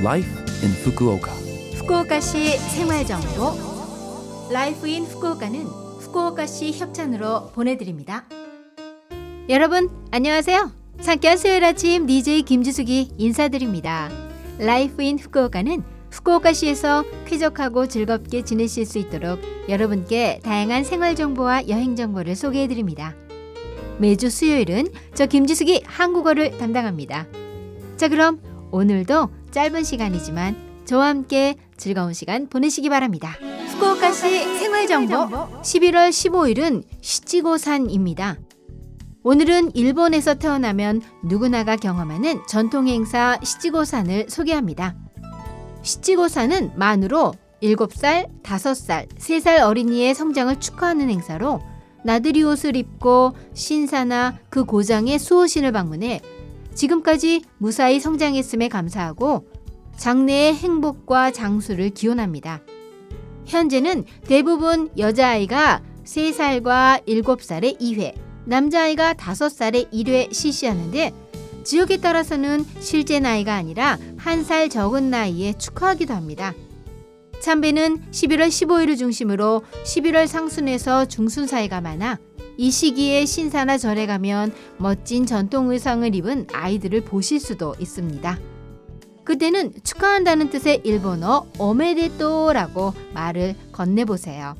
Life in Fukuoka. 후쿠오카시 생활정보 라이프 인 후쿠오카는 후쿠오카시 협찬으로 보내드립니다. 여러분 안녕하세요. 상쾌한 수요일 아침 DJ 김지숙이 인사드립니다. 라이프 인 후쿠오카는 후쿠오카시에서 쾌적하고 즐겁게 지내실 수 있도록 여러분께 다양한 생활정보와 여행정보를 소개해드립니다. 매주 수요일은 저 김지숙이 한국어를 담당합니다. 자, 그럼 오늘도 짧은 시간이지만 저와 함께 즐거운 시간 보내시기 바랍니다. 후쿠오카시 생활정보 11월 15일은 시치고산입니다. 오늘은 일본에서 태어나면 누구나가 경험하는 전통행사 시치고산을 소개합니다. 시치고산은 만으로 7살, 5살, 3살 어린이의 성장을 축하하는 행사로 나들이 옷을 입고 신사나 그 고장의 수호신을 방문해 지금까지 무사히 성장했음에 감사하고 장래의 행복과 장수를 기원합니다. 현재는 대부분 여자아이가 3살과 7살에 2회, 남자아이가 5살에 1회 실시하는데 지역에 따라서는 실제 나이가 아니라 1살 적은 나이에 축하하기도 합니다. 참배는 11월 15일을 중심으로 11월 상순에서 중순 사이가 많아 이 시기에 신사나 절에 가면 멋진 전통 의상을 입은 아이들을 보실 수도 있습니다. 그때는 축하한다는 뜻의 일본어 오메데토라고 말을 건네보세요.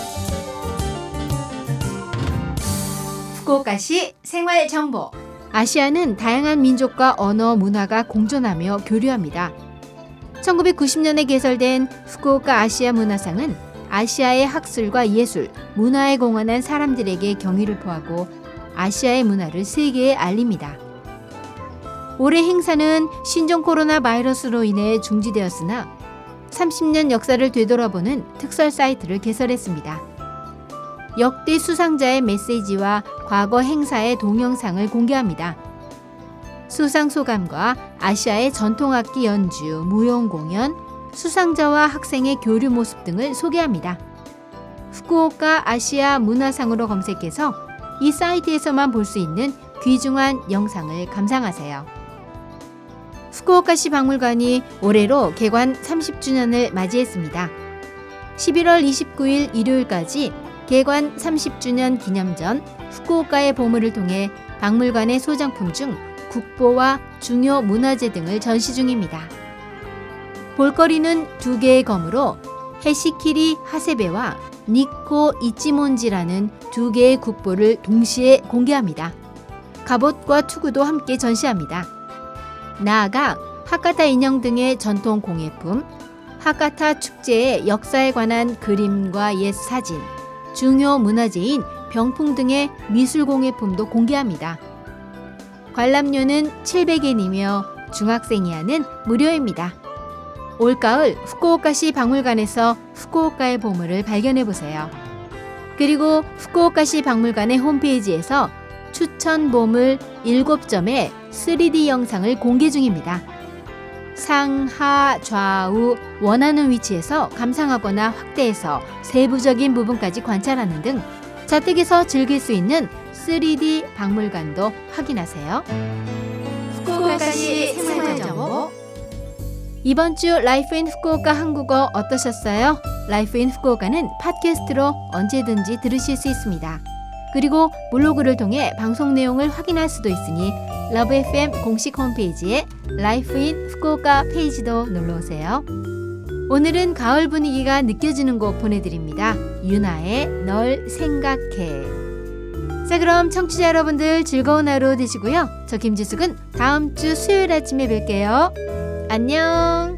후쿠오카시 생활정보 아시아는 다양한 민족과 언어, 문화가 공존하며 교류합니다. 1990년에 개설된 후쿠오카 아시아 문화상은 아시아의 학술과 예술, 문화에 공헌한 사람들에게 경의를 표하고 아시아의 문화를 세계에 알립니다. 올해 행사는 신종 코로나 바이러스로 인해 중지되었으나 30년 역사를 되돌아보는 특설 사이트를 개설했습니다. 역대 수상자의 메시지와 과거 행사의 동영상을 공개합니다. 수상 소감과 아시아의 전통악기 연주, 무용 공연, 수상자와 학생의 교류 모습 등을 소개합니다. 후쿠오카 아시아 문화상으로 검색해서 이 사이트에서만 볼 수 있는 귀중한 영상을 감상하세요. 후쿠오카시 박물관이 올해로 개관 30주년을 맞이했습니다. 11월 29일 일요일까지 개관 30주년 기념전 후쿠오카의 보물을 통해 박물관의 소장품 중 국보와 중요 문화재 등을 전시 중입니다. 볼거리는 2개의 검으로 해시키리 하세베와 니코 이치몬지라는 2개의 국보를 동시에 공개합니다. 갑옷과 투구도 함께 전시합니다. 나아가 하카타 인형 등의 전통 공예품, 하카타 축제의 역사에 관한 그림과 옛 사진, 중요 문화재인 병풍 등의 미술 공예품도 공개합니다. 관람료는 700엔이며 중학생이 하는 무료입니다. 올가을 후쿠오카시 박물관에서 후쿠오카의 보물을 발견해보세요. 그리고 후쿠오카시 박물관의 홈페이지에서 추천 보물 7점의 3D 영상을 공개 중입니다. 상하, 좌우, 원하는 위치에서 감상하거나 확대해서 세부적인 부분까지 관찰하는 등 자택에서 즐길 수 있는 3D 박물관도 확인하세요. 후쿠오카시 생활정보 이번 주 라이프 인 후쿠오카 한국어 어떠셨어요? 라이프 인 후쿠오카는 팟캐스트로 언제든지 들으실 수 있습니다. 그리고 블로그를 통해 방송 내용을 확인할 수도 있으니 러브 FM 공식 홈페이지에 라이프 인 후쿠오카 페이지도 놀러오세요. 오늘은 가을 분위기가 느껴지는 곡 보내드립니다. 유나의 널 생각해. 자, 그럼 청취자 여러분들 즐거운 하루 되시고요. 저 김지숙은 다음 주 수요일 아침에 뵐게요. 안녕.